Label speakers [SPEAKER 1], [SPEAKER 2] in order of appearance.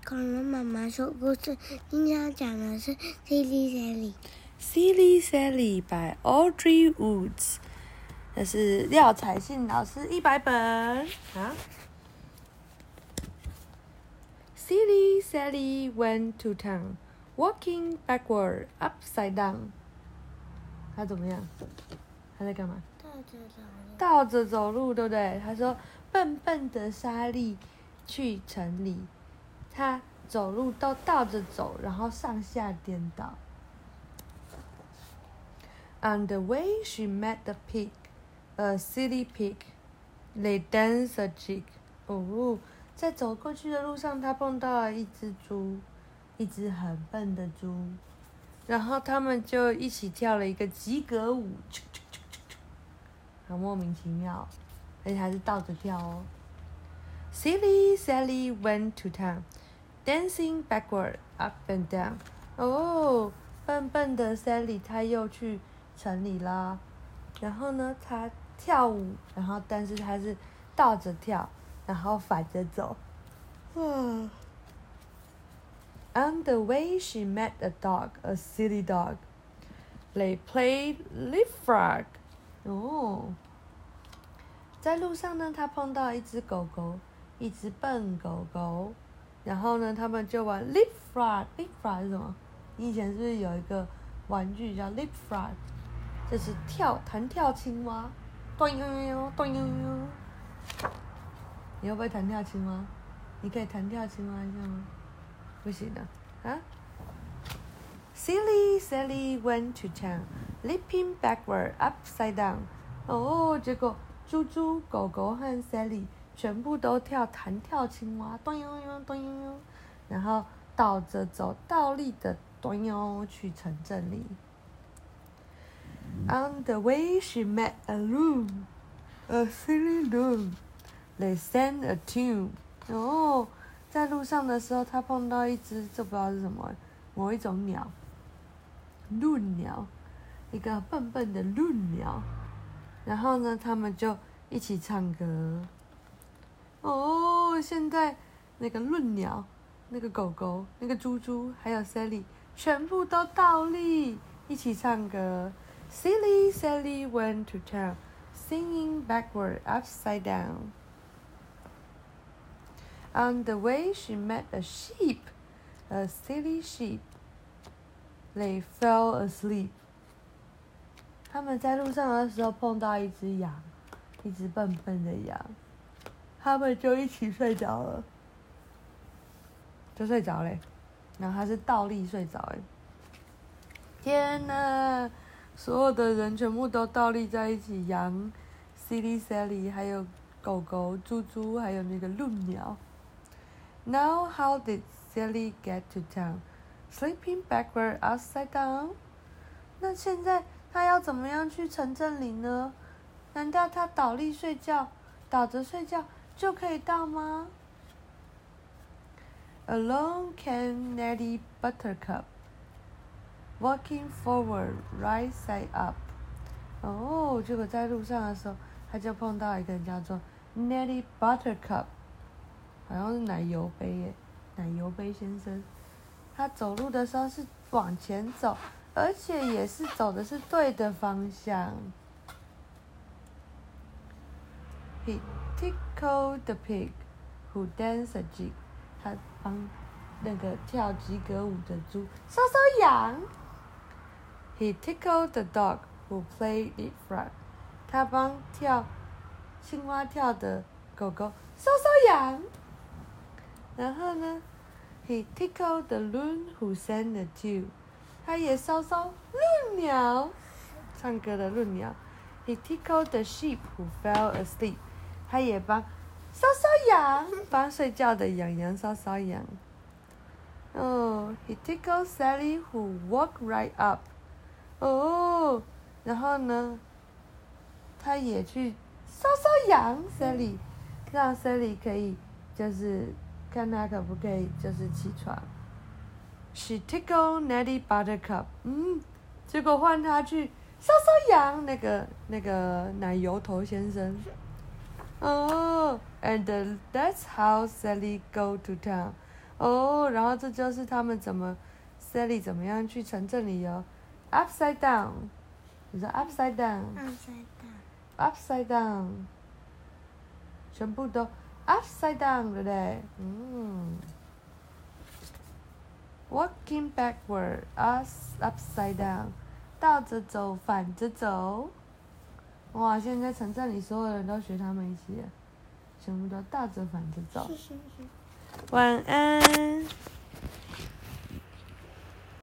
[SPEAKER 1] 恐龙妈妈说故事，今天要讲的是《Silly Sally》。
[SPEAKER 2] Silly Sally by Audrey Woods， 这是廖彩信老师100本啊。Silly Sally went to town, walking backward, upside down。他怎么样？他在干嘛？倒着走路，对不对？他说：“笨笨的莎莉去城里，他走路都倒着走，然后上下颠倒。” On the way, she met a pig, a silly pig. They danced a jig. 哦，在走过去的路上，她碰到了一只猪，一只很笨的猪，然后他们就一起跳了一个及格舞，很莫名其妙，而且还是倒着跳哦。Silly Sally went to town, dancing backward, up and down. 哦，笨笨的 Sally 她又去城里啦，然后呢，她跳舞，然后但是她是倒着跳，然后反着走。On the way, she met a dog, a silly dog. They played leapfrog. 哦，在路上呢，她碰到一只狗狗，一只笨狗狗，然后呢，他们就玩 leapfrog。leapfrog 是什么？你以前是不是有一个玩具叫 leapfrog？ 就是弹跳青蛙，咚悠悠咚悠悠。你会不会弹跳青蛙？你可以弹跳青蛙一下吗？不行啊！啊 ！Silly Sally went to town, leaping backward, upside down. 哦，结果猪猪、狗狗和 Sally 全部都弹跳青蛙，咚悠悠咚悠悠，然后倒着走，倒立的咚悠去城镇里。On the way, she met a loon, a silly loon. They sang a tune. 哦，在路上的时候，她碰到一只，这不知道是什么，某一种鸟，鹭鸟，一个笨笨的鹭鸟。然后呢，他们就一起唱歌。哦，现在那个鹭鸟、那个狗狗、那个猪猪，还有 Sally， 全部都倒立，一起唱歌。Silly Sally went to town, singing backward, upside down. On the way, she met a sheep, a silly sheep. They fell asleep. 他们在路上的时候碰到一只羊，一只笨笨的羊，他们就一起睡着了，就睡着嘞。然后他是倒立睡着哎，天哪！所有的人全部都倒立在一起，羊、Silly Sally， 还有狗狗、猪猪，还有那个鹭鸟。Now how did Sally get to town? Sleeping backward, upside down. 那现在她要怎么样去城镇里呢？难道她倒着睡觉就可以到吗？ Along came Nettie Buttercup, walking forward, right side up. 哦，结果在路上的时候，他就碰到一个人叫做 Nettie Buttercup， 好像是奶油杯耶，奶油杯先生。他走路的时候是往前走，而且也是走的是对的方向。He tickled the pig, who danced a jig. 他帮那个跳及格舞的猪搔搔痒。He tickled the dog, who played leapfrog. 他帮青蛙跳的狗狗搔搔痒。然后呢 ，He tickled the loon, who sang a tune. 他也搔搔鹭鸟，唱歌的鹭鸟。He tickled the sheep, who fell asleep. 他也帮搔搔痒，帮睡觉的羊羊搔搔痒。哦 ，He tickled Sally, who walked right up. 哦，然后呢，他也去搔搔痒 Sally， 让 Sally 可以就是看他可不可以就是起床。She tickled Nettie Buttercup， 结果换他去搔搔痒那个奶油头先生。哦 ，and that's how Sally go to town, 哦，然后这就是他们Sally 怎么样去城镇里哦 ，upside down， 你说 upside down，upside down， 全部都 upside down， 对不对？Walking backward, upside down， 倒着走，反着走。哇，现在城镇里所有人都学他们一起，全部都倒着反着走。晚安。